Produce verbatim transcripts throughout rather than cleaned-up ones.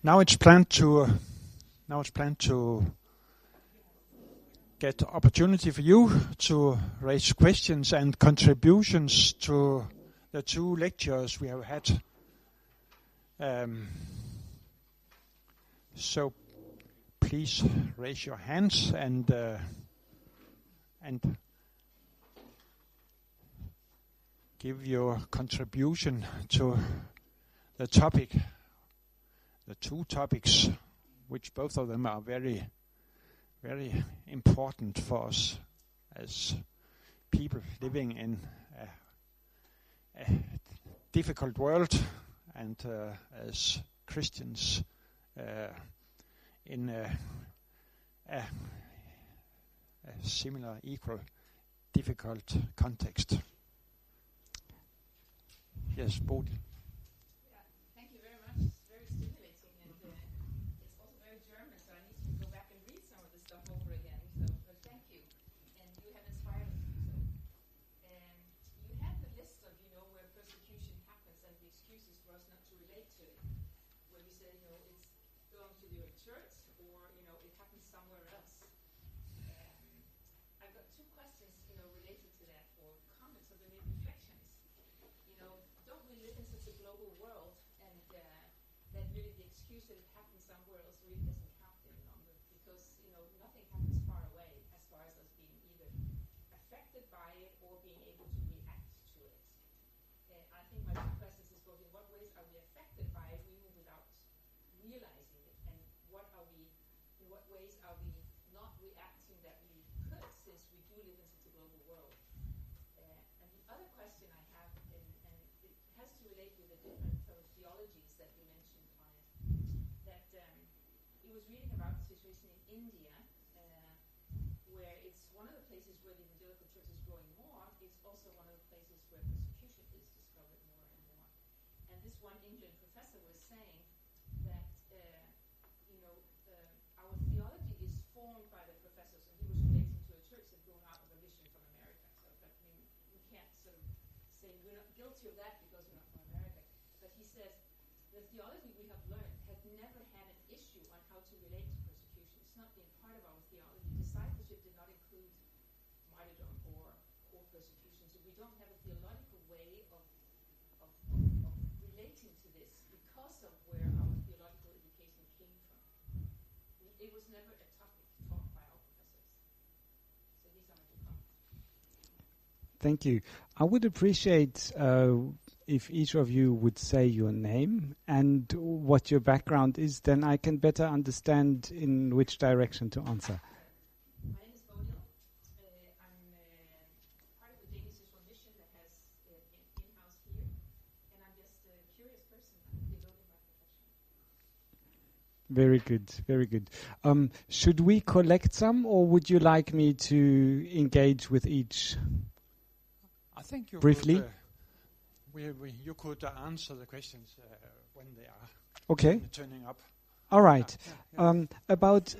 Now it's planned to. Uh, now it's planned to get opportunity for you to raise questions and contributions to the two lectures we have had. Um, so please raise your hands and uh, and give your contribution to the topic, the two topics, which both of them are very, very important for us as people living in a, a difficult world, and uh, as Christians uh, in a, a, a similar, equal, difficult context. Yes, Bodil. Thank you. I would appreciate uh, if each of you would say your name and what your background is, then I can better understand in which direction to answer. My name is Bodil. Uh, I'm uh, part of the Danish Social Mission that has uh, in- in-house here, and I'm just a curious person. I'm a theologian by profession. Very good, very good. Um, should we collect some, or would you like me to engage with each? I think you briefly. Could, uh, we, we, you could uh, answer the questions uh, when they are okay. turning up. All right. Yeah, yeah, yeah. Um, about.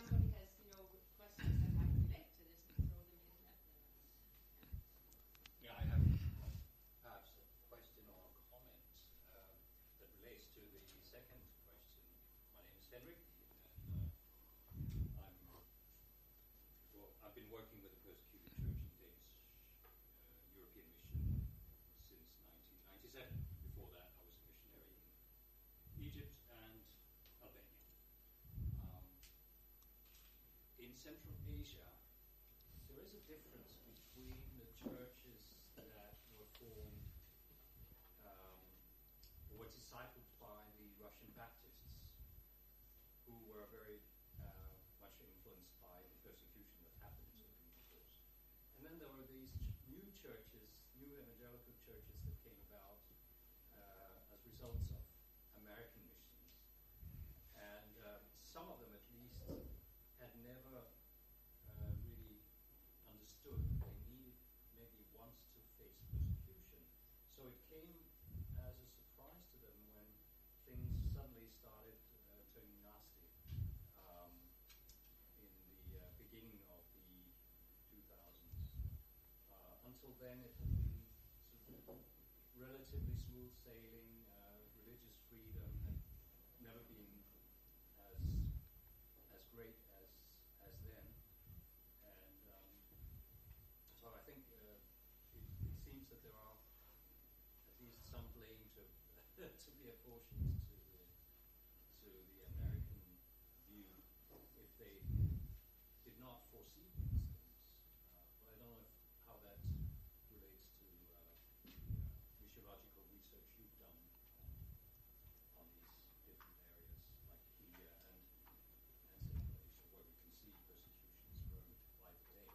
Central Asia, there is a difference between the churches that were formed um, or were discipled by the Russian Baptists, who were very uh, much influenced by the persecution that happened to them, of course. And then there were these ch- new churches, new evangelical churches that came about uh, as results of American missions. And uh, some of them, at least, had never uh, really understood that they needed maybe once to face persecution. So it came as a surprise to them when things suddenly started uh, turning nasty um, in the uh, beginning of the two thousands. Uh, until then it had been sort of relatively smooth sailing, uh, religious freedom had never been to be apportioned to the, to the American view if they did not foresee these things. Uh, but I don't know if, how that relates to uh, missiological research you've done on, on these different areas, like India and, and Central Asia, where we can see persecutions growing by the day.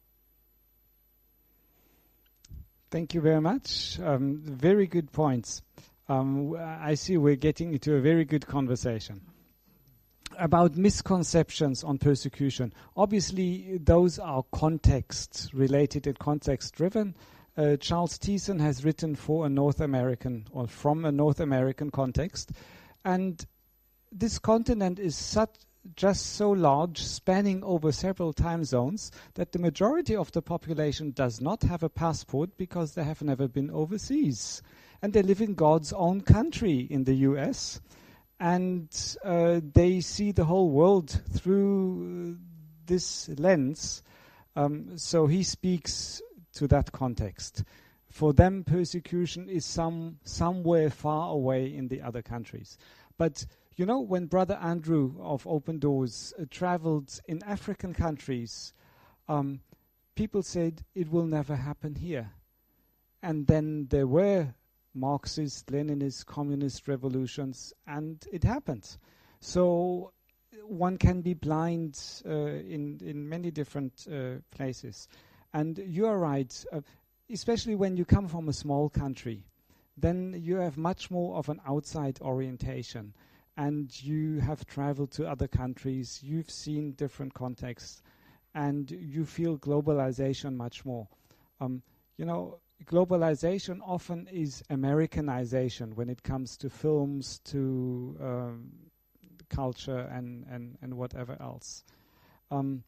Thank you very much. Um, very good points. Um, I see we're getting into a very good conversation. About misconceptions on persecution. Obviously, those are context-related and context-driven. Uh, Charles Thiessen has written for a North American, or from a North American context. And this continent is such just so large, spanning over several time zones, that the majority of the population does not have a passport because they have never been overseas. And they live in God's own country in the U S, and uh, they see the whole world through this lens. Um, so he speaks to that context. For them, persecution is some somewhere far away in the other countries. But you know, when Brother Andrew of Open Doors uh, traveled in African countries, um, people said it will never happen here. And then there were Marxist, Leninist, communist revolutions, and it happened. So one can be blind uh, in, in many different uh, places. And you are right, uh, especially when you come from a small country, then you have much more of an outside orientation. And you have traveled to other countries, you've seen different contexts, and you feel globalization much more. Um, you know, globalization often is Americanization when it comes to films, to um, culture, and, and, and whatever else. Um,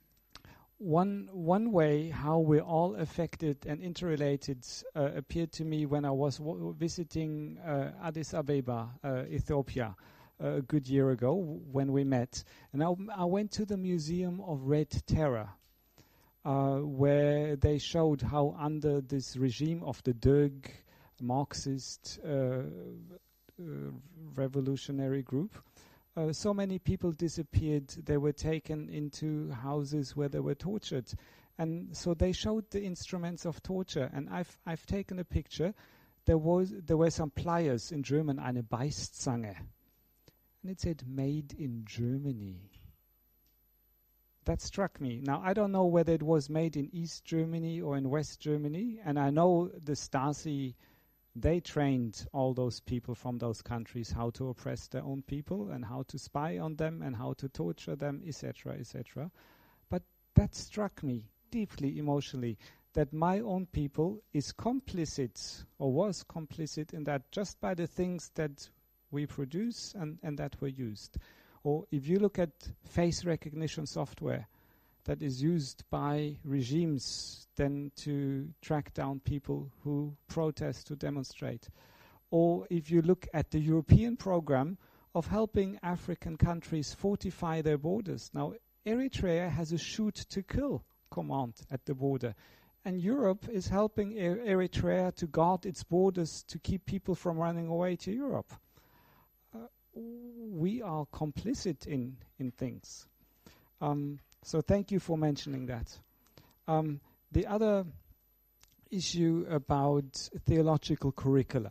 one one way how we're all affected and interrelated uh, appeared to me when I was w- visiting uh, Addis Ababa, uh, Ethiopia, uh, a good year ago w- when we met. And I, I went to the Museum of Red Terror, uh, where they showed how under this regime of the Derg Marxist uh, uh, revolutionary group, Uh, so many people disappeared. They were taken into houses where they were tortured. And so they showed the instruments of torture. And I've I've taken a picture. There was there were some pliers in German, eine Beißzange. And it said, made in Germany. That struck me. Now, I don't know whether it was made in East Germany or in West Germany. And I know the Stasi, they trained all those people from those countries how to oppress their own people and how to spy on them and how to torture them, et cetera, et cetera. But that struck me deeply emotionally, that my own people is complicit or was complicit in that just by the things that we produce and, and that were used. Or if you look at face recognition software that is used by regimes then to track down people who protest, to demonstrate. Or if you look at the European program of helping African countries fortify their borders. Now, Eritrea has a shoot-to-kill command at the border. And Europe is helping er- Eritrea to guard its borders to keep people from running away to Europe. Uh, we are complicit in, in things. Um, So thank you for mentioning that. Um, the other issue about theological curricula.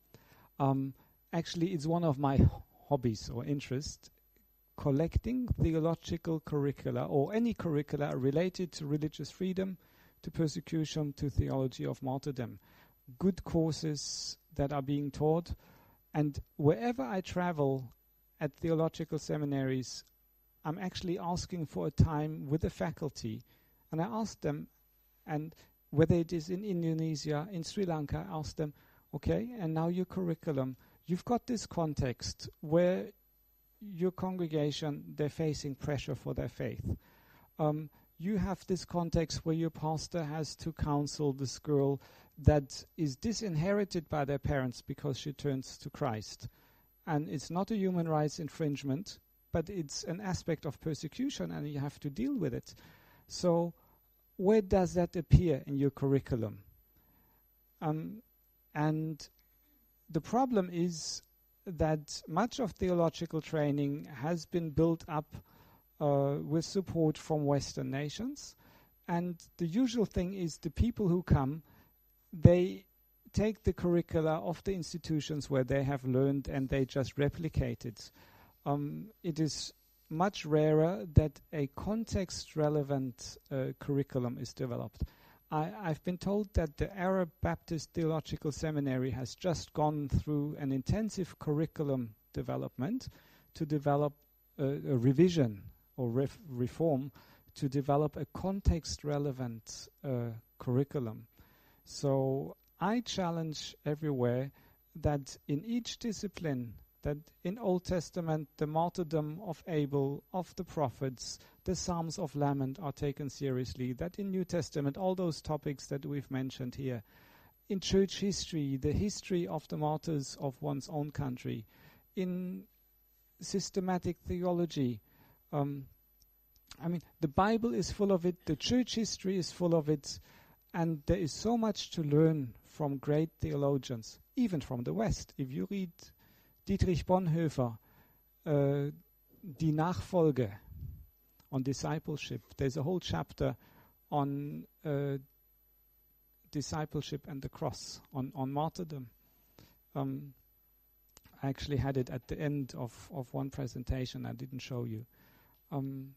Um, actually, it's one of my hobbies or interests, collecting theological curricula or any curricula related to religious freedom, to persecution, to theology of martyrdom. Good courses that are being taught. And wherever I travel at theological seminaries, I'm actually asking for a time with the faculty, and I ask them, and whether it is in Indonesia, in Sri Lanka, I ask them, okay, and now your curriculum, you've got this context where your congregation, they're facing pressure for their faith. Um, you have this context where your pastor has to counsel this girl that is disinherited by their parents because she turns to Christ. And it's not a human rights infringement, but it's an aspect of persecution and you have to deal with it. So where does that appear in your curriculum? Um, and the problem is that much of theological training has been built up uh, with support from Western nations. And the usual thing is the people who come, they take the curricula of the institutions where they have learned and they just replicate it. Um, it is much rarer that a context-relevant uh, curriculum is developed. I, I've been told that the Arab Baptist Theological Seminary has just gone through an intensive curriculum development to develop a, a revision or ref reform to develop a context-relevant uh, curriculum. So I challenge everywhere that in each discipline, that in Old Testament, the martyrdom of Abel, of the prophets, the Psalms of Lament are taken seriously, that in New Testament, all those topics that we've mentioned here, in church history, the history of the martyrs of one's own country, in systematic theology, um, I mean, the Bible is full of it, the church history is full of it, and there is so much to learn from great theologians, even from the West. If you read Dietrich Bonhoeffer, uh, Die Nachfolge, on discipleship, there's a whole chapter on uh, discipleship and the cross, on, on martyrdom. Um, I actually had it at the end of, of one presentation I didn't show you. Um,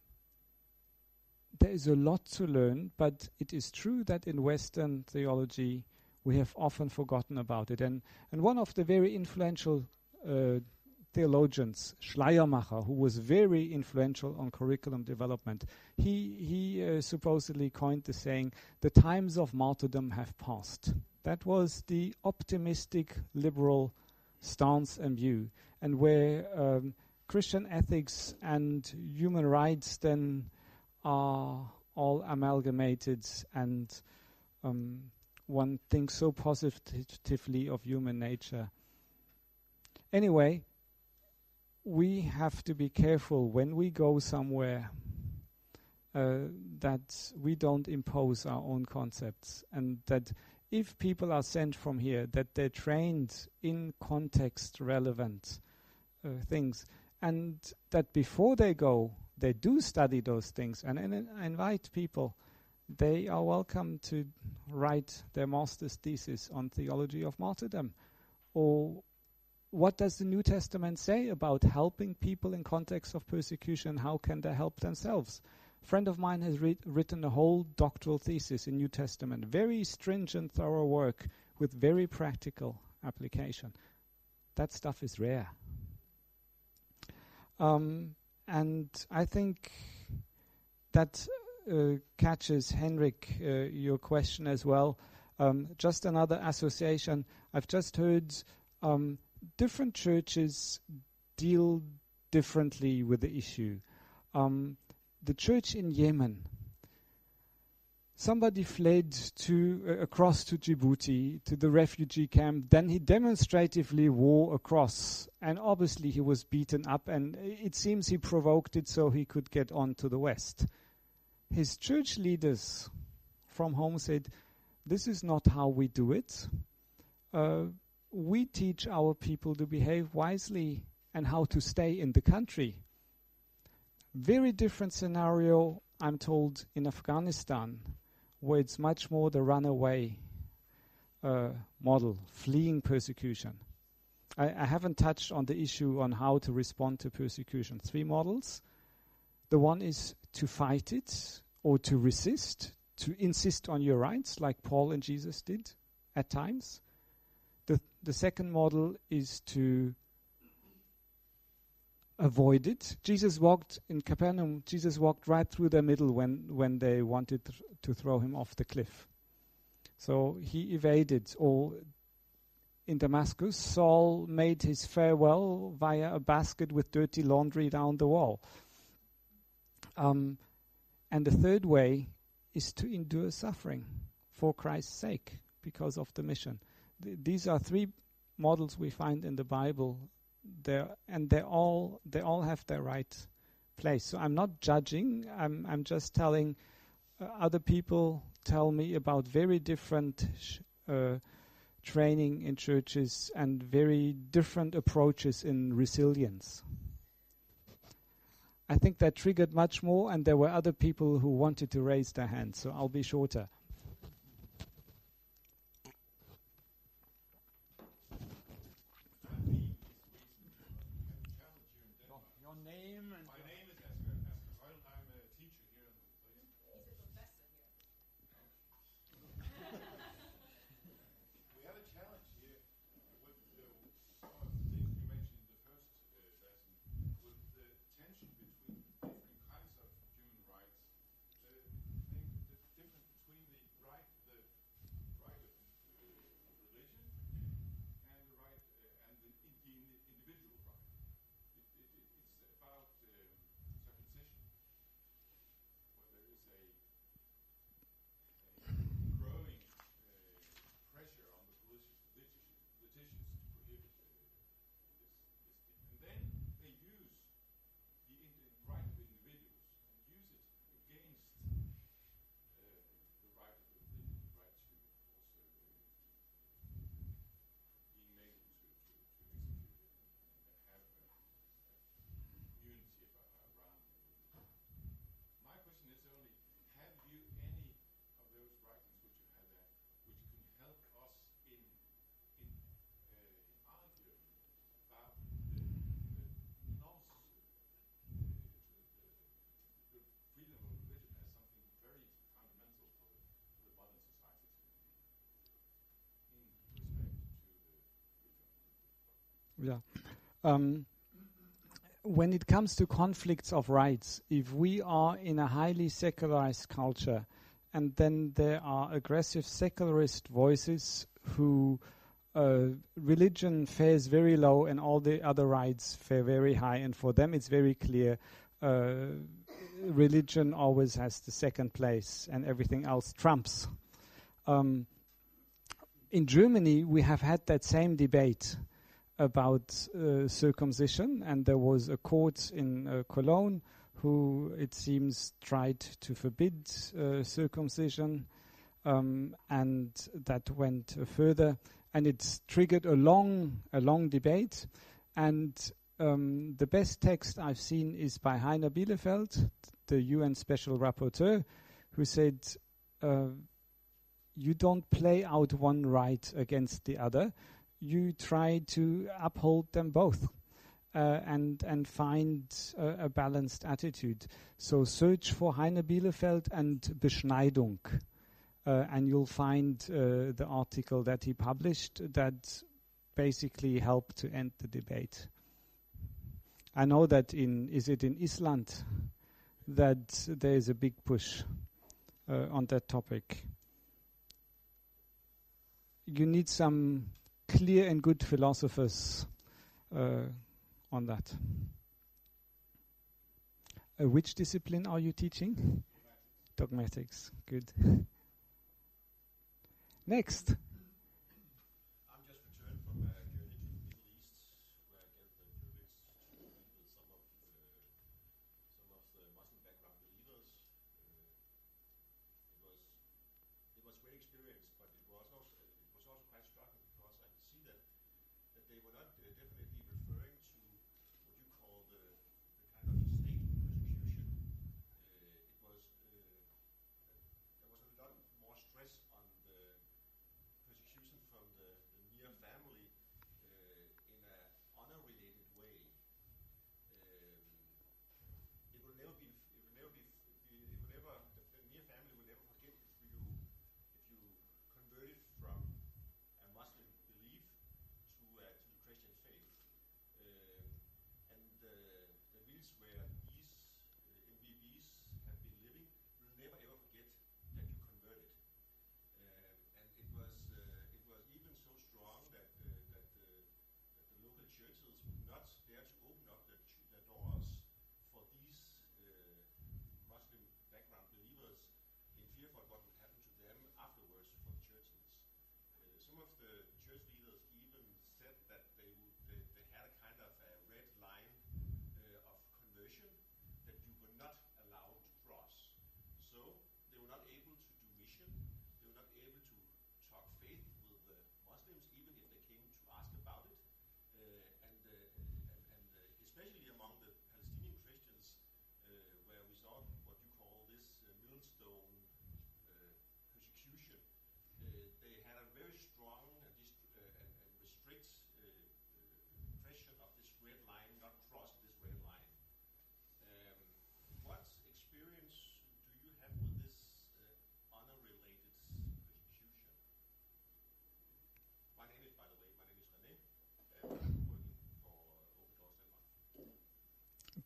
there is a lot to learn, but it is true that in Western theology we have often forgotten about it. And, and one of the very influential uh, theologians, Schleiermacher, who was very influential on curriculum development, he, he uh, supposedly coined the saying, the times of martyrdom have passed. That was the optimistic liberal stance and view, and where um, Christian ethics and human rights then are all amalgamated, and um, one thinks so positively of human nature. Anyway, we have to be careful when we go somewhere uh, that we don't impose our own concepts, and that if people are sent from here, that they're trained in context-relevant uh, things, and that before they go, they do study those things. And, and I invite people, they are welcome to write their master's thesis on theology of martyrdom. Or what does the New Testament say about helping people in context of persecution? How can they help themselves? A friend of mine has re written a whole doctoral thesis in New Testament, very stringent, thorough work with very practical application. That stuff is rare. Um, and I think that uh, catches, Henrik, uh, your question as well. Um, just another association. I've just heard um, different churches deal differently with the issue. Um, the church in Yemen, somebody fled to uh, across to Djibouti, to the refugee camp. Then he demonstratively wore a cross, and obviously he was beaten up, and it seems he provoked it so he could get on to the West. His church leaders from home said, this is not how we do it. Uh, we teach our people to behave wisely and how to stay in the country. Very different scenario, I'm told, in Afghanistan, where it's much more the runaway uh, model, fleeing persecution. I, I haven't touched on the issue on how to respond to persecution. Three models. The one is to fight it or to resist, to insist on your rights, like Paul and Jesus did at times. The, the second model is to avoid it. Jesus walked in Capernaum, Jesus walked right through their middle when, when they wanted th to throw him off the cliff. So he evaded. Or in Damascus, Saul made his farewell via a basket with dirty laundry down the wall. Um, and the third way is to endure suffering for Christ's sake because of the mission. Th these are three models we find in the Bible. They're, and they all they all have their right place. So I'm not judging. I'm I'm just telling uh, other people tell me about very different sh uh, training in churches and very different approaches in resilience. I think that triggered much more, and there were other people who wanted to raise their hands, so I'll be shorter. Your name and My name is Asger Asger Højl. I'm a teacher here in the Museum. He's a professor here. We have a challenge here with uh, some of the things you mentioned in the first uh, lesson, with the tension between different kinds of human rights. The thing, the difference between the right, the right of uh, religion, and the right uh, and the, in, the individual right. It, it, it, it's about um, circumcision, where there is a, a growing uh, pressure on the politicians, politicians to prohibit uh, this, this thing. And then they use the, in, the right of individuals and use it against uh, the right of the, the right to also uh, being able to, to, to execute it and have a, a community about, around it. My question is only, have you any of those writings which you have there, which can help us in in, uh, in arguing about the, the loss, uh, the, the, the freedom of religion as something very fundamental for the, for the modern society in respect to the freedom. Yeah. Um, when it comes to conflicts of rights, if we are in a highly secularized culture and then there are aggressive secularist voices who uh, religion fares very low and all the other rights fare very high, and for them it's very clear uh, religion always has the second place and everything else trumps. Um, in Germany we have had that same debate about uh, circumcision, and there was a court in uh, Cologne who, it seems, tried to forbid uh, circumcision, um, and that went uh, further, and it triggered a long, a long debate. And um, the best text I've seen is by Heiner Bielefeld, the U N Special Rapporteur, who said, uh, "You don't play out one right against the other. You try to uphold them both uh, and and find uh, a balanced attitude." So search for Heiner Bielefeld and Beschneidung, uh, and you'll find uh, the article that he published that basically helped to end the debate. I know that in, is it in Iceland, that there is a big push uh, on that topic. You need some clear and good philosophers uh, on that. Uh, which discipline are you teaching? Dogmatics. Good. Next. I'm just returned from a journey to the Middle East, where I get the privilege to meet with some of the, some of the Muslim background believers. Uh, it was it was a great experience, but it was also it was also quite shocking because I could see that that they were not uh, definitely referring to what you call the the kind of state persecution. Uh, it was uh, there was a lot more stress on the persecution from the, the near family uh, in a honor-related way. Um, it will never be. It will never be. It will never. The, the near family will never forget if you if you converted from a Muslim belief to uh, to the Christian faith. Um, and the the village where these uh, M B Bs have been living will never ever forget that you converted. Um, and it was uh, it was even so strong that uh, that, uh, that the local churches would not dare to open up their, ch- their doors for these uh, Muslim background believers in fear for what would happen to them afterwards for the churches. Uh, some of the church leaders even said that they would they, they had a kind of a red line uh, of conversion that you were not allowed to cross. So they were not able to do mission. They were not able to talk faith with the Muslims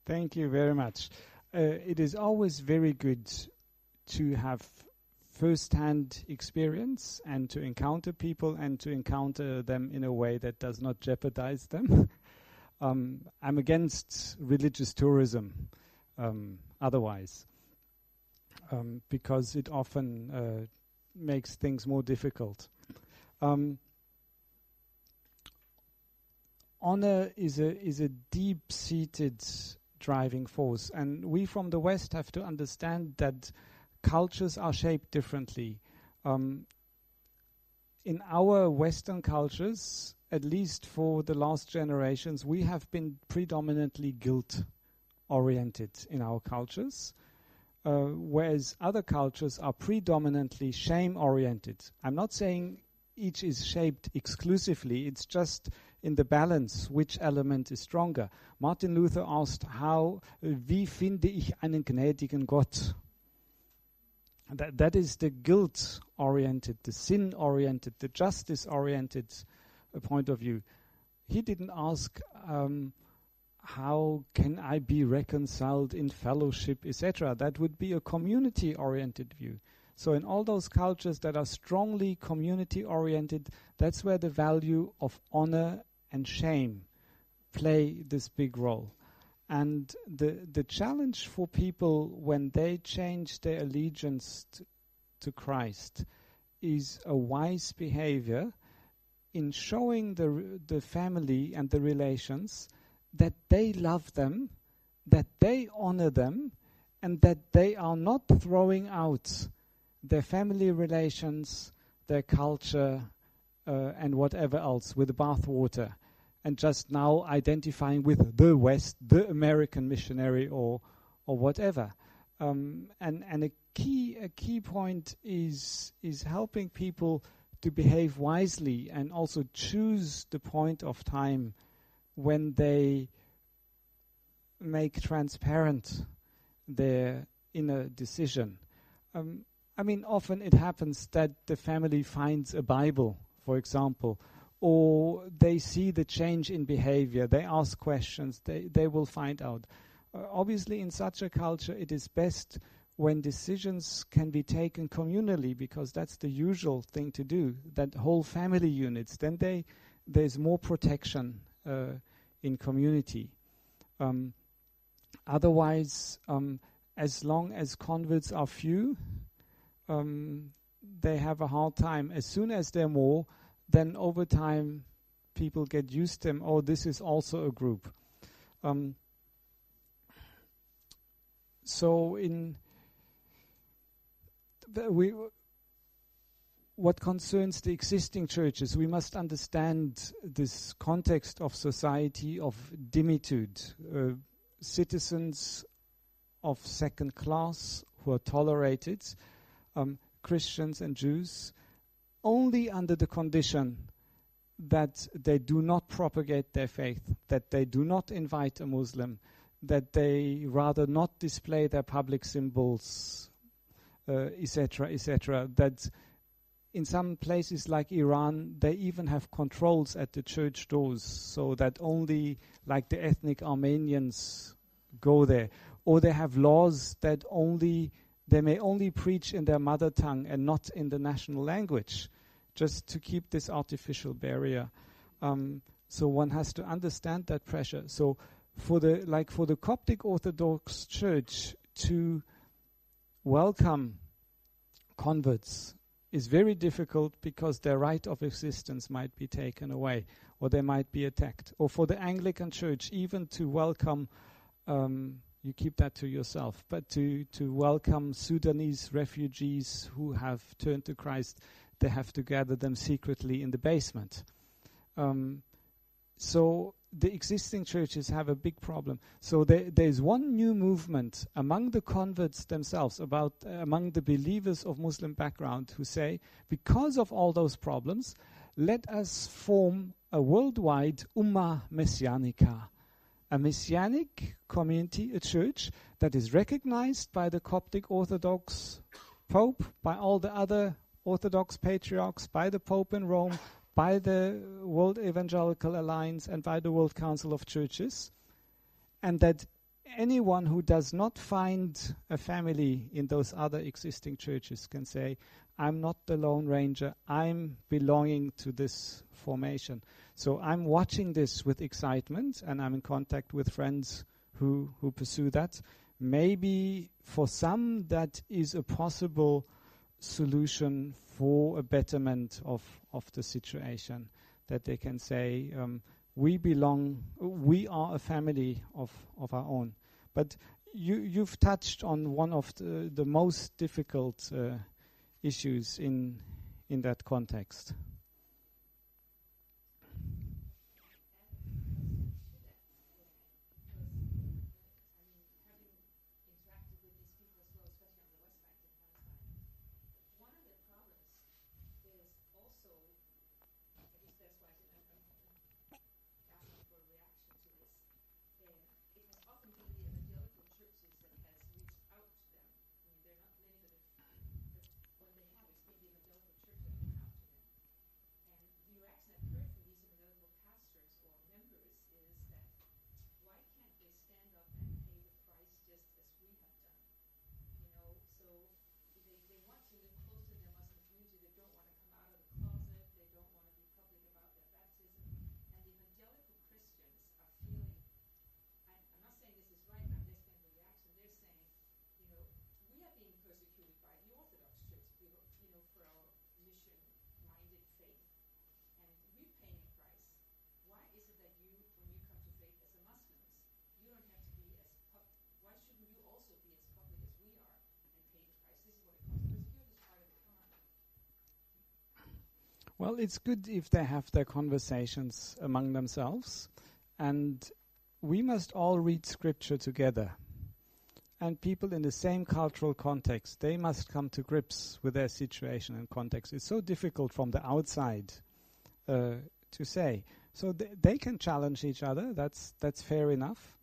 Thank you very much. Uh, it is always very good to have first-hand experience and to encounter people and to encounter them in a way that does not jeopardize them. um, I'm against religious tourism um, otherwise, um, because it often uh, makes things more difficult. Um, honor is a is a deep-seated driving force, and we from the West have to understand that cultures are shaped differently. Um, in our Western cultures, at least for the last generations, we have been predominantly guilt-oriented in our cultures, uh, whereas other cultures are predominantly shame-oriented. I'm not saying each is shaped exclusively, it's just in the balance which element is stronger. Martin Luther asked, how, uh, wie finde ich einen gnädigen Gott? That, that is the guilt-oriented, the sin-oriented, the justice-oriented uh, point of view. He didn't ask, um, how can I be reconciled in fellowship, et cetera. That would be a community-oriented view. So in all those cultures that are strongly community-oriented, that's where the value of honor and shame play this big role. And the the challenge for people when they change their allegiance t- to Christ is a wise behavior in showing the r- the family and the relations that they love them, that they honor them, and that they are not throwing out their family relations, their culture, uh, and whatever else with the bathwater, and just now identifying with the West, the American missionary, or or whatever. Um, and and a key a key point is is helping people to behave wisely and also choose the point of time when they make transparent their inner decision. Um, I mean, often it happens that the family finds a Bible, for example, or they see the change in behavior, they ask questions, they, they will find out. Uh, obviously, in such a culture, it is best when decisions can be taken communally, because that's the usual thing to do, that whole family units, then they there's more protection uh, in community. Um, otherwise, um, as long as converts are few, um, they have a hard time. As soon as they're more, then over time people get used to them. Oh, this is also a group. Um, so in the, we, what concerns the existing churches, we must understand this context of society of dimitude, uh, citizens of second class who are tolerated, um, Christians and Jews, only under the condition that they do not propagate their faith, that they do not invite a Muslim, that they rather not display their public symbols, uh, et cetera, et cetera. That in some places like Iran, they even have controls at the church doors, so that only like the ethnic Armenians go there. Or they have laws that only they may only preach in their mother tongue and not in the national language, just to keep this artificial barrier. Um, so one has to understand that pressure. So for the like for the Coptic Orthodox Church to welcome converts is very difficult, because their right of existence might be taken away, or they might be attacked. Or for the Anglican Church, even to welcome, um, you keep that to yourself, but to, to welcome Sudanese refugees who have turned to Christ, they have to gather them secretly in the basement. Um, so the existing churches have a big problem. So there, there's one new movement among the converts themselves, about uh, among the believers of Muslim background, who say, because of all those problems, let us form a worldwide Ummah Messianica, a messianic community, a church that is recognized by the Coptic Orthodox Pope, by all the other Orthodox patriarchs, by the Pope in Rome, by the World Evangelical Alliance, and by the World Council of Churches, and that anyone who does not find a family in those other existing churches can say, I'm not the Lone Ranger, I'm belonging to this formation. So I'm watching this with excitement, and I'm in contact with friends who, who pursue that. Maybe for some that is a possible solution for a betterment of, of the situation, that they can say, um, we belong, we are a family of, of our own. But you, you've touched on one of the, the most difficult uh, issues in in that context. Well, it's good if they have their conversations among themselves, and we must all read scripture together. And people in the same cultural context, they must come to grips with their situation and context. It's so difficult from the outside uh, to say. So th- they can challenge each other, that's that's fair enough.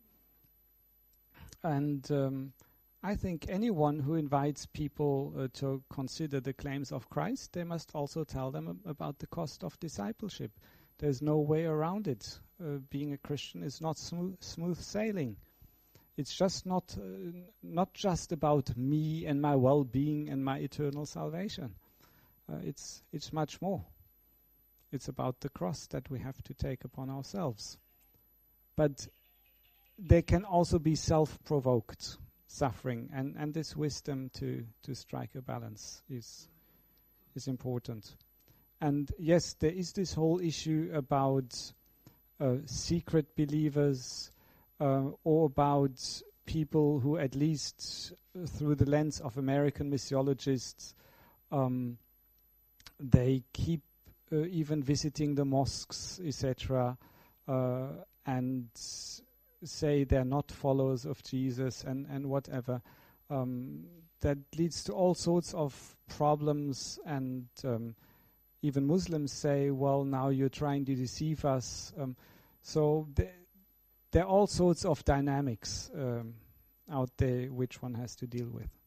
And um, I think anyone who invites people uh, to consider the claims of Christ, they must also tell them ab- about the cost of discipleship. There's no way around it. Uh, being a Christian is not smooth, smooth sailing. It's just not uh, n- not just about me and my well-being and my eternal salvation. Uh, it's it's much more. It's about the cross that we have to take upon ourselves. But there can also be self-provoked suffering, and, and this wisdom to, to strike a balance is is important. And yes, there is this whole issue about uh, secret believers, uh, or about people who, at least uh, through the lens of American missiologists, um, they keep uh, even visiting the mosques, et cetera, uh, and s- say they're not followers of Jesus and, and whatever. Um, that leads to all sorts of problems, and um, even Muslims say, well, now you're trying to deceive us. Um, so th- there are all sorts of dynamics um, out there which one has to deal with.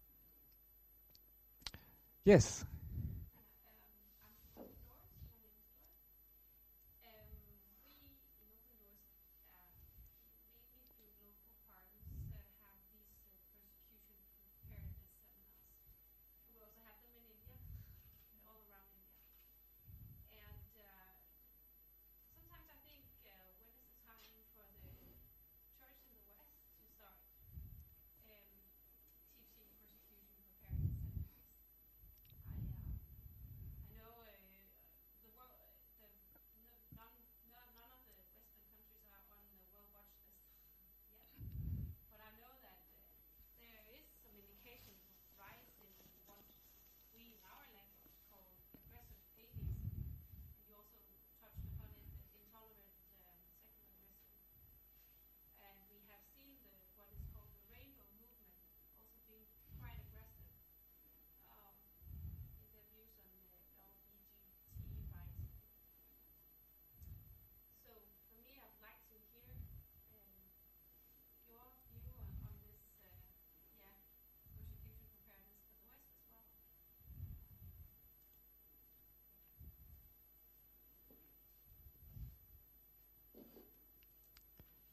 Yes?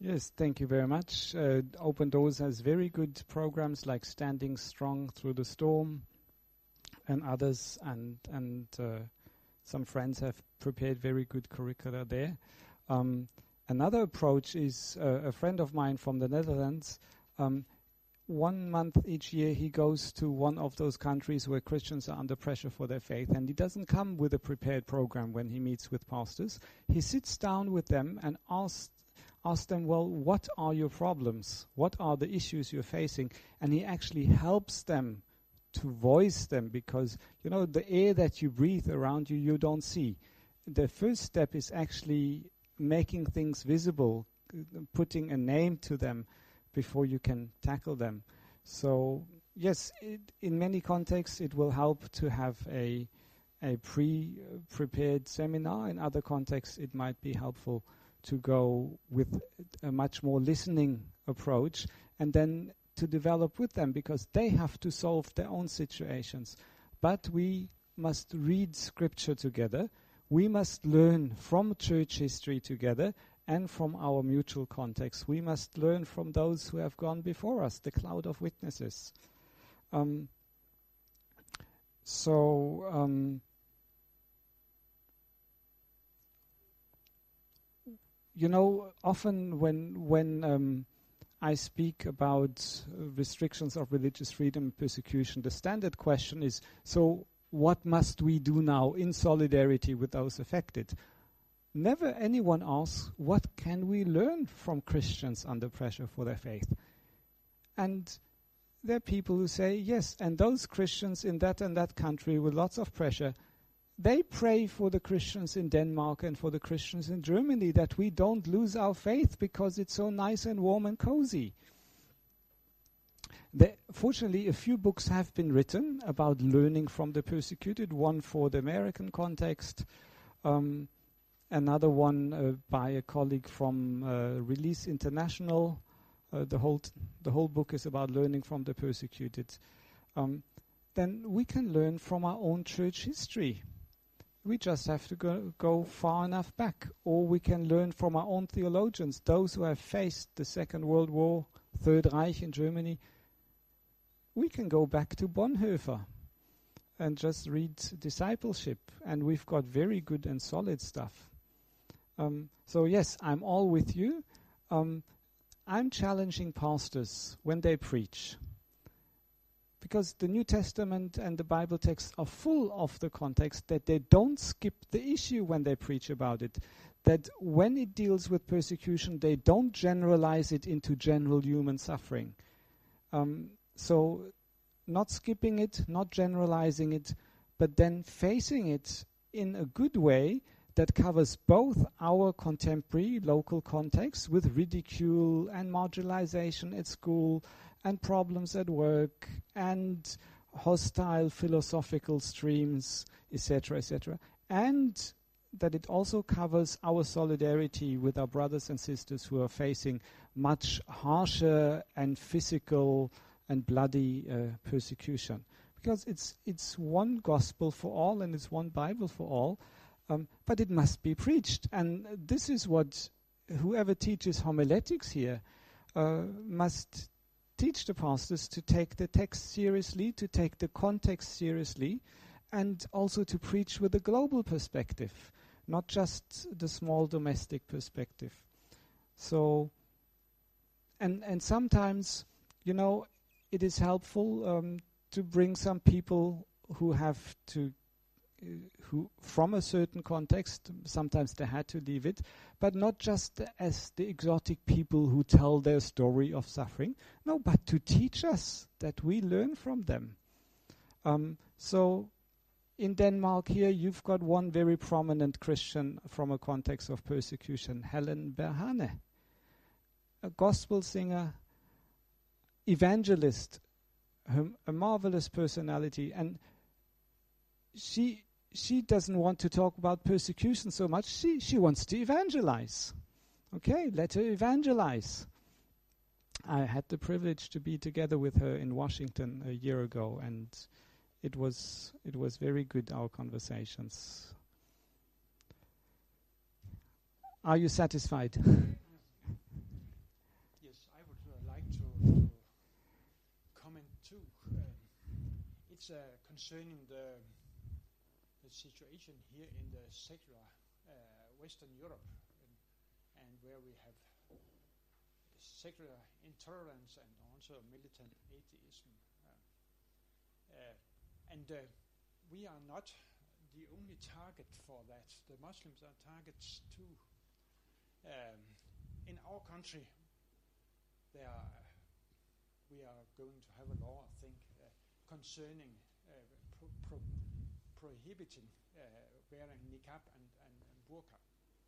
Yes, thank you very much. Uh, Open Doors has very good programs like Standing Strong Through the Storm and others, and and uh, some friends have prepared very good curricula there. Um, another approach is uh, a friend of mine from the Netherlands. Um, one month each year he goes to one of those countries where Christians are under pressure for their faith, and he doesn't come with a prepared program when he meets with pastors. He sits down with them and asks Ask them, well, what are your problems? What are the issues you're facing? And he actually helps them to voice them, because, you know, the air that you breathe around you, you don't see. The first step is actually making things visible, uh, putting a name to them before you can tackle them. So, yes, it, in many contexts, it will help to have a, a pre-prepared seminar. In other contexts, it might be helpful to go with a much more listening approach and then to develop with them, because they have to solve their own situations. But we must read scripture together. We must learn from church history together and from our mutual context. We must learn from those who have gone before us, the cloud of witnesses. Um, so... Um, You know, often when when um, I speak about uh, restrictions of religious freedom and persecution, the standard question is, so what must we do now in solidarity with those affected? Never anyone asks, what can we learn from Christians under pressure for their faith? And there are people who say, yes, and those Christians in that and that country with lots of pressure, they pray for the Christians in Denmark and for the Christians in Germany that we don't lose our faith because it's so nice and warm and cozy. There, fortunately, a few books have been written about learning from the persecuted, one for the American context, um, another one uh, by a colleague from uh, Release International. Uh, the whole t- the whole book is about learning from the persecuted. Um, then we can learn from our own church history. We just have to go, go far enough back. Or we can learn from our own theologians, those who have faced the Second World War, Third Reich in Germany. We can go back to Bonhoeffer and just read discipleship, and we've got very good and solid stuff. Um, so yes, I'm all with you. Um, I'm challenging pastors when they preach, because the New Testament and the Bible texts are full of the context that they don't skip the issue when they preach about it. That when it deals with persecution, they don't generalize it into general human suffering. Um, so not skipping it, not generalizing it, but then facing it in a good way that covers both our contemporary local context with ridicule and marginalization at school and problems at work, and hostile philosophical streams, et cetera, et cetera, and that it also covers our solidarity with our brothers and sisters who are facing much harsher and physical and bloody uh, persecution. Because it's it's one gospel for all and it's one Bible for all, um, but it must be preached. And this is what whoever teaches homiletics here uh, must teach the pastors to take the text seriously, to take the context seriously, and also to preach with a global perspective, not just the small domestic perspective. So, and and sometimes, you know, it is helpful um, to bring some people who have to, uh, who from a certain context, sometimes they had to leave it, but not just as the exotic people who tell their story of suffering, no, but to teach us that we learn from them. Um, so in Denmark here, you've got one very prominent Christian from a context of persecution, Helen Berhane, a gospel singer, evangelist, um, a marvelous personality, and she she doesn't want to talk about persecution so much. She she wants to evangelize. Okay, let her evangelize. I had the privilege to be together with her in Washington a year ago, and it was it was very good, our conversations. Are you satisfied? too. Um, it's uh, concerning the the situation here in the secular uh, Western Europe, and, and where we have secular intolerance and also militant atheism. Uh, uh, and uh, we are not the only target for that. The Muslims are targets too. Um, in our country, there are, we are going to have a law, I think, uh, concerning uh, pro- pro- prohibiting uh, wearing niqab and, and, and burqa.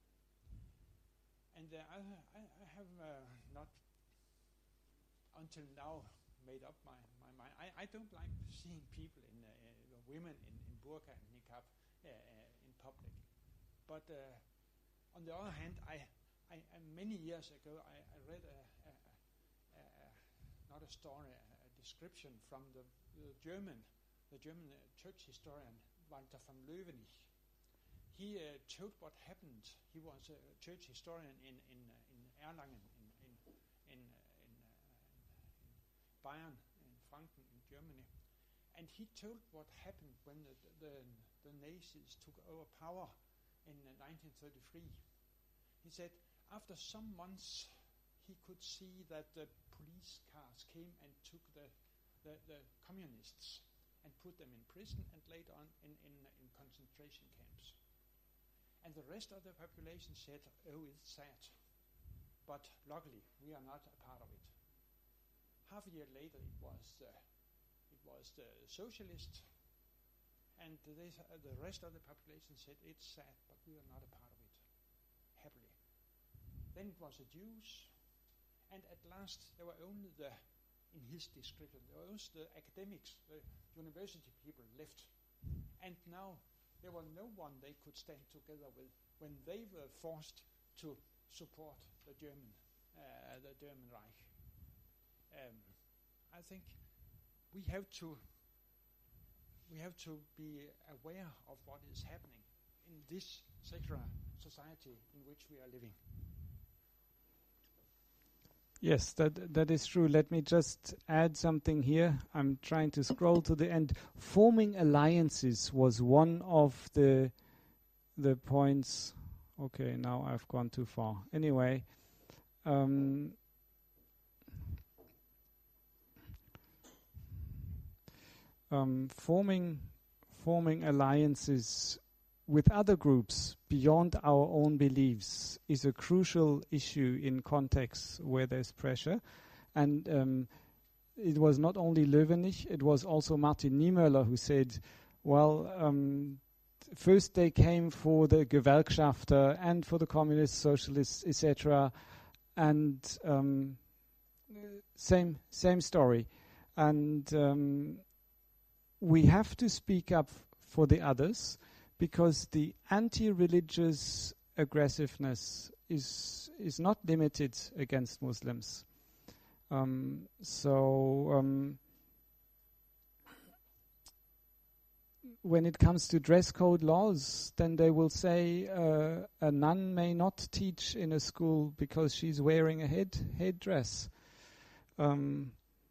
And uh, I, I, I have uh, not until now made up my, my mind. I, I don't like seeing people in, uh, uh, women in, in burqa and niqab uh, uh, in public. But uh, on the other hand, I, I, I many years ago I, I read a, a, a, a not a story, a, a description from the, the German, the German uh, church historian Walter von Löwenich. He uh, told what happened. He was a church historian in in uh, in Erlangen, in in in, uh, in, uh, in Bayern, in Franken, in Germany, and he told what happened when the the, the Nazis took over power in uh, nineteen thirty-three. He said after some months he could see that the police cars came and took the the, the communists and put them in prison and later on in in, in concentration camps. And the rest of the population said, oh, it's sad. But luckily, we are not a part of it. Half a year later, it was uh, it was the socialists, and they, uh, the rest of the population said, it's sad, but we are not a part of it, happily. Then it was the Jews, and at last, there were only the, in his description, there were only the academics, the university people left. And now, there was no one they could stand together with when they were forced to support the German, uh, the German Reich. Um, I think we have to we have to be aware of what is happening in this secular society in which we are living. Yes, that that is true. Let me just add something here. I'm trying to scroll to the end. Forming alliances was one of the the points. Okay, now I've gone too far. Anyway, um, um, forming forming alliances with other groups beyond our own beliefs is a crucial issue in contexts where there's pressure. And um, it was not only Löwenich, it was also Martin Niemöller who said, well, um, first they came for the Gewerkschafter and for the communists, socialists, et cetera. And um, same same story. And um, we have to speak up for the others, because the anti-religious aggressiveness is is not limited against Muslims. Um, so um, when it comes to dress code laws, then they will say uh, a nun may not teach in a school because she's wearing a head headdress. Um,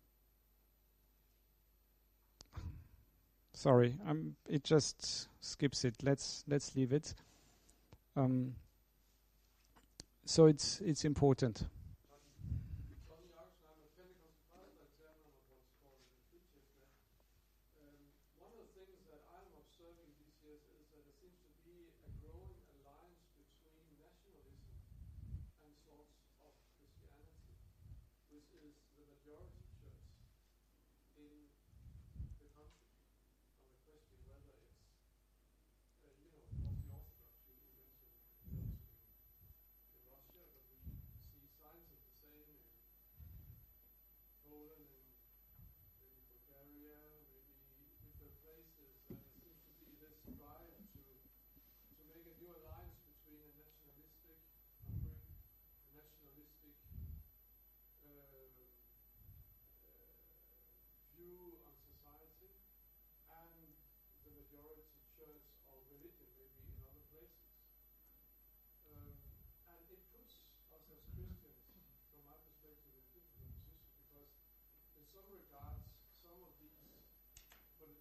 Sorry, um, it just skips it. Let's let's leave it. Um, so it's it's important. Tony Oxen, I'm a Pentecostal pastor at Zerman of what's called the Friedhofsnet. Um, one of the things that I'm observing these years is that there seems to be a growing alliance between nationalism and sorts of Christianity, which is the majority church in the country. Question whether it's, uh, you know, of the Orthodox, you, you mentioned those in, in Russia, but we see signs of the same in Poland and maybe Bulgaria, maybe different places. And it seems to be this drive to to make a new alliance between a nationalistic Hungary, a nationalistic uh, uh, view on society, and the majority church or religion maybe in other places. Um, and it puts us as Christians, from my perspective, in a difficult position, because in some regards, some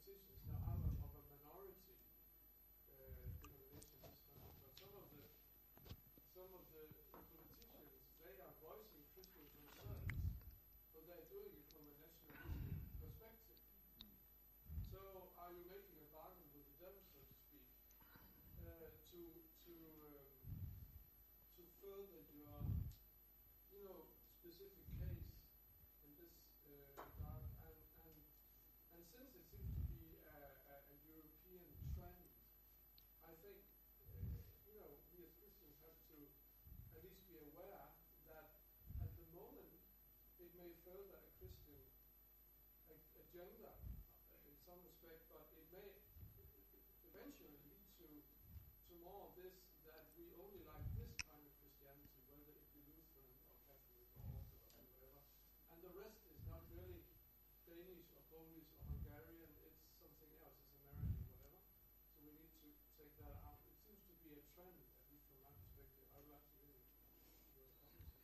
politicians. Now, I'm a, of a minority uh, denomination this country, but some of the some of the politicians, they are voicing Christians themselves, but they're doing it from a nationalistic perspective. So, are you making a bargain with the devil, so to speak, uh, to to um, to further your, you know, specific case in this uh, regard? And and and since it seems to be a, a, a European trend, I think uh, you know we as Christians have to at least be aware that at the moment it may further a Christian ag- agenda uh, in some respect, but it may eventually lead to to more of this, that we only like this kind of Christianity, whether it be Lutheran or Catholic or Orthodox or whatever, and the rest is not really Danish or Polish or Hungarian, it's something else, it's American, whatever. So we need to take that out. It seems to be a trend, at least from my perspective. I would like to hear your comments.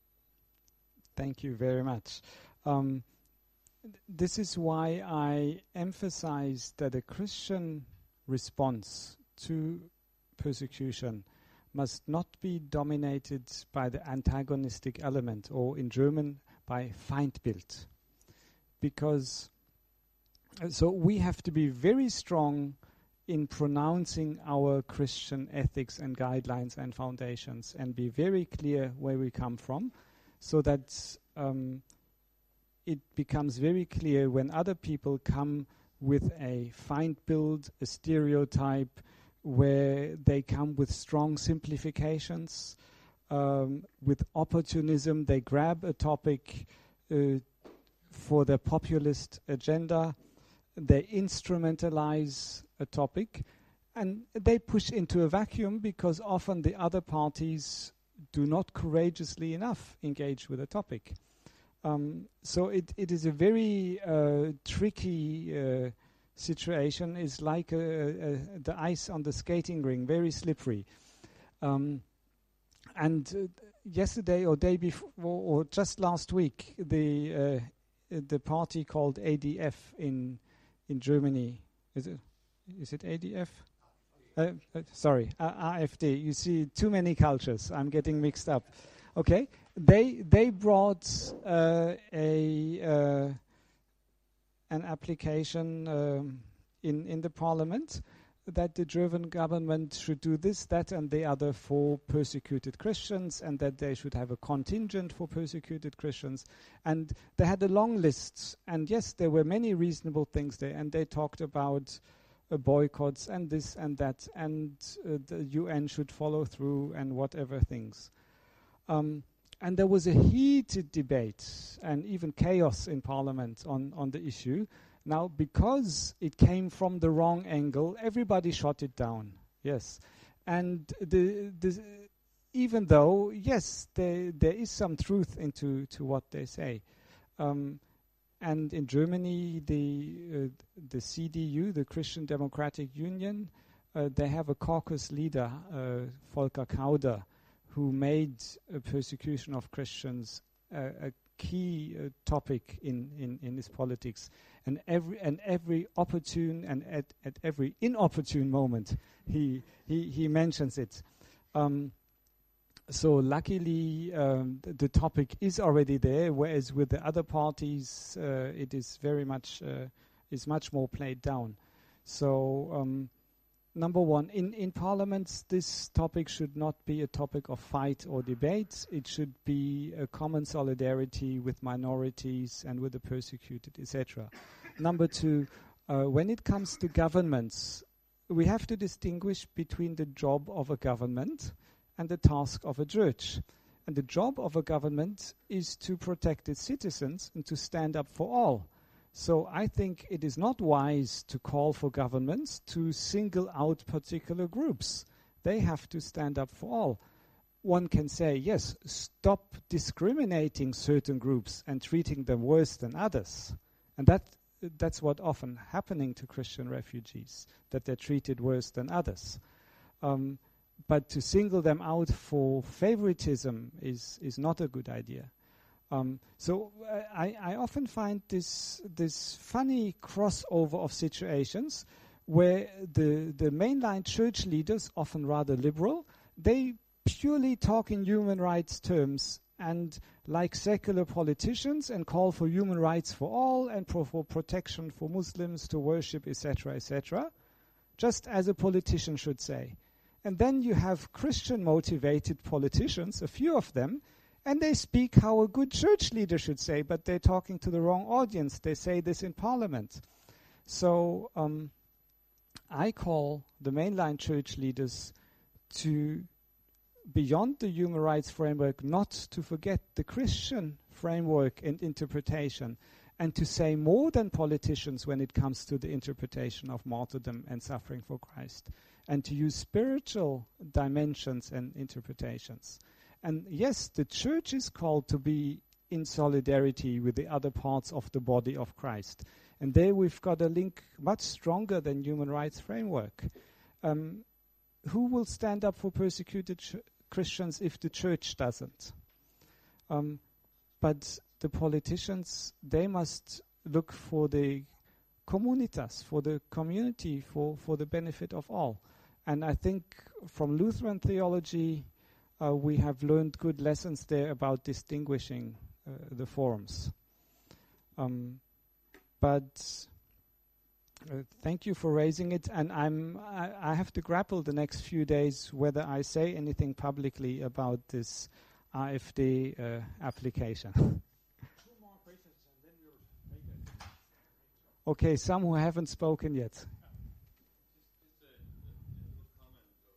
Thank you very much. Um, th- this is why I emphasize that a Christian response to persecution must not be dominated by the antagonistic element, or in German, by Feindbild. Because, uh, so we have to be very strong in pronouncing our Christian ethics and guidelines and foundations, and be very clear where we come from, so that um, it becomes very clear when other people come with a Feindbild, a stereotype, where they come with strong simplifications, um, with opportunism. They grab a topic uh, for their populist agenda, they instrumentalize a topic, and they push into a vacuum, because often the other parties do not courageously enough engage with a topic. Um, so it, it is a very uh, tricky uh, situation. Is like a, a, a, the ice on the skating ring, very slippery. Um, and uh, yesterday or day before, or just last week, the uh, the party called A D F in in Germany, is it is it A D F? Uh, uh, sorry, uh, A F D. You see, too many cultures. I'm getting mixed up. Okay, they they brought uh, a uh, an application um, in in the parliament that the German government should do this, that, and the other for persecuted Christians, and that they should have a contingent for persecuted Christians. And they had a long list, and yes, there were many reasonable things there, and they talked about uh, boycotts and this and that, and uh, the U N should follow through and whatever things. Um, and there was a heated debate and even chaos in Parliament on, on the issue. Now, because it came from the wrong angle, everybody shot it down. Yes, and the, the even though yes, there there is some truth into to what they say, um, and in Germany, the uh, the C D U, the Christian Democratic Union, uh, they have a caucus leader, uh, Volker Kauder, who made uh, persecution of Christians uh, a key uh, topic in, in, in his politics, and every and every opportune and at, at every inopportune moment he he, he mentions it. Um, so luckily um, th- the topic is already there, whereas with the other parties uh, it is very much uh, is much more played down. So um, number one, in, in parliaments, this topic should not be a topic of fight or debate. It should be a common solidarity with minorities and with the persecuted, et cetera. Number two, uh, when it comes to governments, we have to distinguish between the job of a government and the task of a church. And the job of a government is to protect its citizens and to stand up for all. So I think it is not wise to call for governments to single out particular groups. They have to stand up for all. One can say, yes, stop discriminating certain groups and treating them worse than others. And that that's what often happening to Christian refugees, that they're treated worse than others. Um, but to single them out for favoritism is, is not a good idea. Um, so uh, I, I often find this this funny crossover of situations where the the mainline church leaders, often rather liberal, they purely talk in human rights terms and like secular politicians and call for human rights for all and pro- for protection for Muslims to worship, et cetera, et cetera, just as a politician should say. And then you have Christian-motivated politicians, a few of them, and they speak how a good church leader should say, but they're talking to the wrong audience. They say this in parliament. So um, I call the mainline church leaders to, beyond the human rights framework, not to forget the Christian framework and interpretation, and to say more than politicians when it comes to the interpretation of martyrdom and suffering for Christ, and to use spiritual dimensions and interpretations. And yes, the church is called to be in solidarity with the other parts of the body of Christ. And there we've got a link much stronger than human rights framework. Um, who will stand up for persecuted ch- Christians if the church doesn't? Um, but the politicians, they must look for the communitas, for the community, for, for the benefit of all. And I think from Lutheran theology, uh, we have learned good lessons there about distinguishing uh, the forms. Um, but uh, thank you for raising it, and I'm I, I have to grapple the next few days whether I say anything publicly about this A F D uh, application. Two more questions and then we'll make it. Okay, some who haven't spoken yet. Just, just a, a, a little comment, or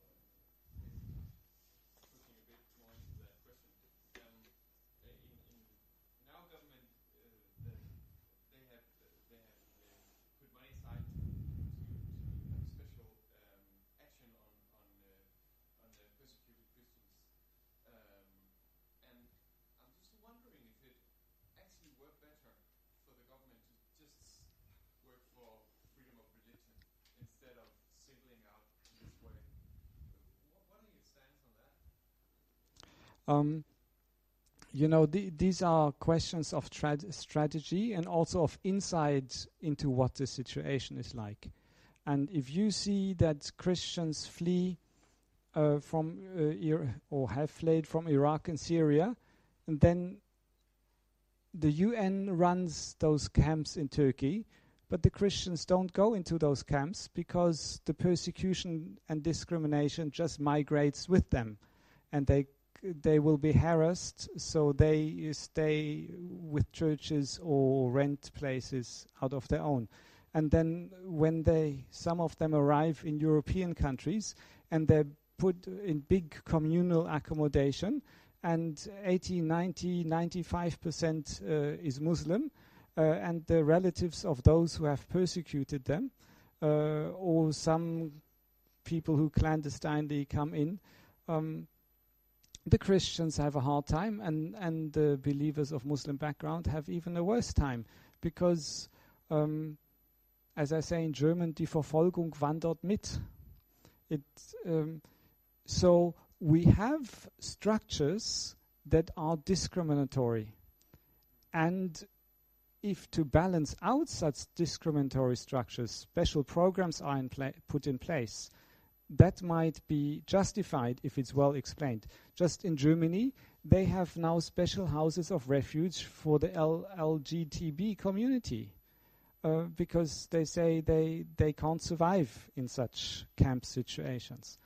pushing a bit more into that question. Um, in, in, in our government, uh, the, they have uh, they have uh, put money aside to, to have special um, action on on uh, on the persecuted Christians, um, and I'm just wondering if it actually worked better for the government to just work for freedom of religion instead of singling out this way. What, what are your stance on that? Um, you know, the, these are questions of trad- strategy and also of insight into what the situation is like. And if you see that Christians flee uh, from uh, Ir- or have fled from Iraq and Syria, and then the U N runs those camps in Turkey, but the Christians don't go into those camps because the persecution and discrimination just migrates with them, and they they will be harassed, so they stay with churches or rent places out of their own. And then when they, some of them arrive in European countries and they're put in big communal accommodation, and eighty, ninety, ninety-five percent uh, is Muslim, uh, and the relatives of those who have persecuted them, uh, or some people who clandestinely come in, um, the Christians have a hard time, and, and the believers of Muslim background have even a worse time, because, um, as I say in German, die Verfolgung wandert mit. It, um, so we have structures that are discriminatory, and if to balance out such discriminatory structures, special programs are in pla- put in place, that might be justified if it's well explained. Just in Germany, they have now special houses of refuge for the L G B T community uh, because they say they, they can't survive in such camp situations.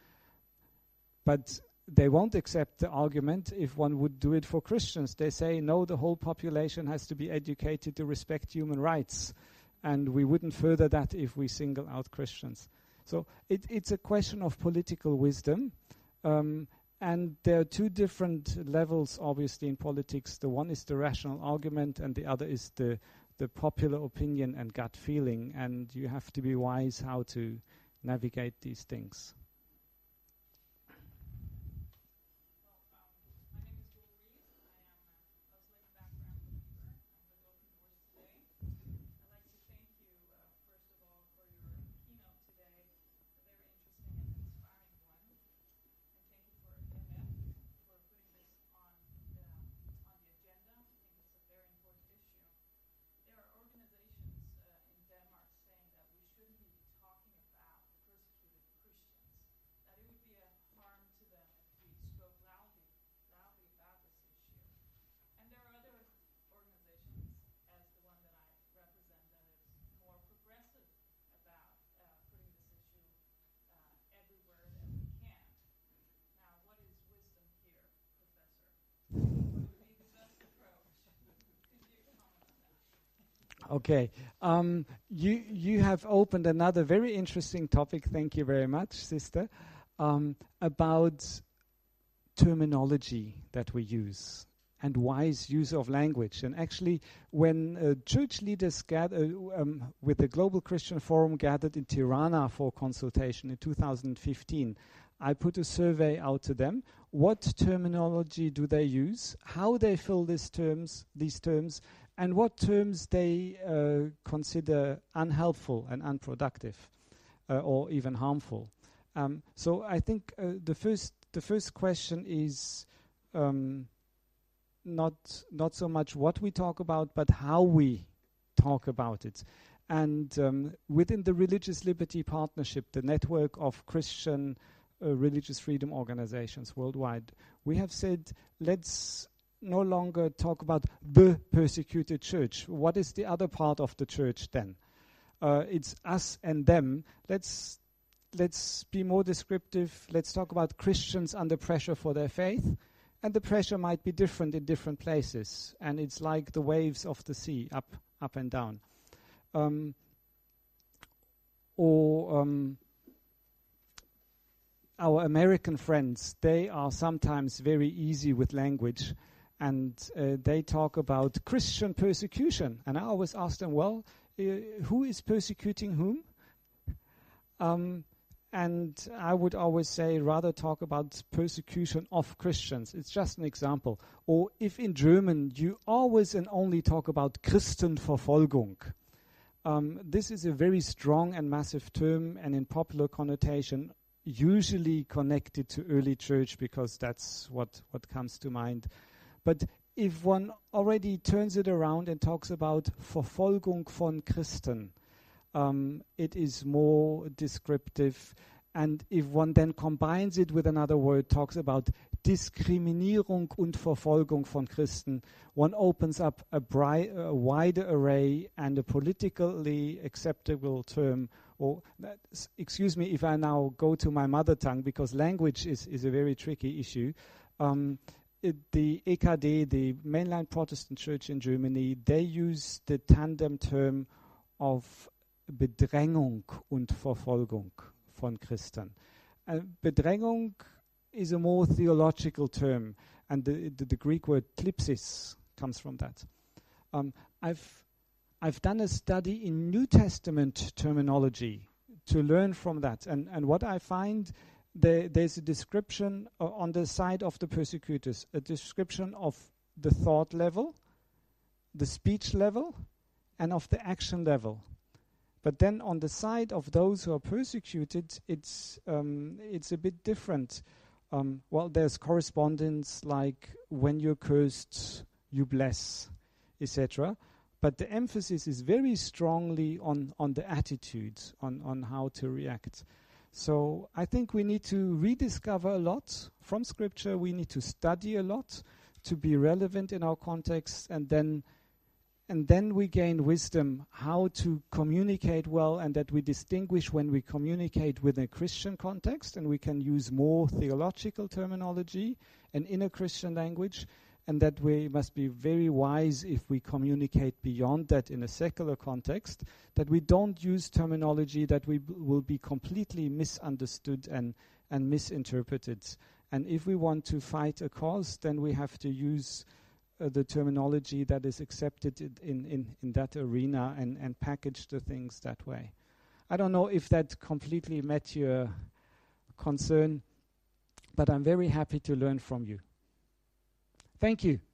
But they won't accept the argument if one would do it for Christians. They say, no, the whole population has to be educated to respect human rights, and we wouldn't further that if we single out Christians. So it, it's a question of political wisdom, um, and there are two different levels, obviously, in politics. The one is the rational argument, and the other is the, the popular opinion and gut feeling, and you have to be wise how to navigate these things. Okay. Um, you you have opened another very interesting topic. Thank you very much, sister. Um, about terminology that we use and wise use of language. And actually, when uh, church leaders gather, um, with the Global Christian Forum gathered in Tirana for consultation in two thousand fifteen, I put a survey out to them. What terminology do they use? How they fill these terms, these terms, and what terms they uh, consider unhelpful and unproductive, uh, or even harmful. Um, so I think uh, the first the first question is um, not not so much what we talk about, but how we talk about it. And um, within the Religious Liberty Partnership, the network of Christian uh, religious freedom organizations worldwide, we have said, let's no longer talk about the persecuted church. What is the other part of the church then? Uh, it's us and them. Let's let's be more descriptive. Let's talk about Christians under pressure for their faith. And the pressure might be different in different places. And it's like the waves of the sea, up up and down. Um, or um, our American friends, they are sometimes very easy with language. And uh, they talk about Christian persecution. And I always ask them, well, uh, who is persecuting whom? Um, and I would always say, rather talk about persecution of Christians. It's just an example. Or if in German, you always and only talk about Christenverfolgung. Um, this is a very strong and massive term, and in popular connotation, usually connected to early church, because that's what, what comes to mind. But if one already turns it around and talks about Verfolgung von Christen, um, it is more descriptive. And if one then combines it with another word, talks about Diskriminierung und Verfolgung von Christen, one opens up a, bri- a wider array and a politically acceptable term. Or, uh, s- excuse me if I now go to my mother tongue, because language is, is a very tricky issue. Um, It, the E K D, the mainline Protestant church in Germany, they use the tandem term of Bedrängung und Verfolgung von Christen. Uh, Bedrängung is a more theological term, and the, the, the Greek word klipsis comes from that. Um, I've I've done a study in New Testament terminology to learn from that, and, and what I find, There, there's a description uh, on the side of the persecutors, a description of the thought level, the speech level, and of the action level. But then on the side of those who are persecuted, it's um, it's a bit different. Um, well, there's correspondence like when you're cursed, you bless, et cetera. But the emphasis is very strongly on, on the attitudes, on, on how to react. So I think we need to rediscover a lot from Scripture. We need to study a lot to be relevant in our context, and then and then we gain wisdom how to communicate well, and that we distinguish when we communicate within a Christian context, and we can use more theological terminology and inner Christian language, and that we must be very wise if we communicate beyond that in a secular context, that we don't use terminology that we b- will be completely misunderstood and, and misinterpreted. And if we want to fight a cause, then we have to use uh, the terminology that is accepted in, in, in that arena, and, and package the things that way. I don't know if that completely met your concern, but I'm very happy to learn from you. Thank you.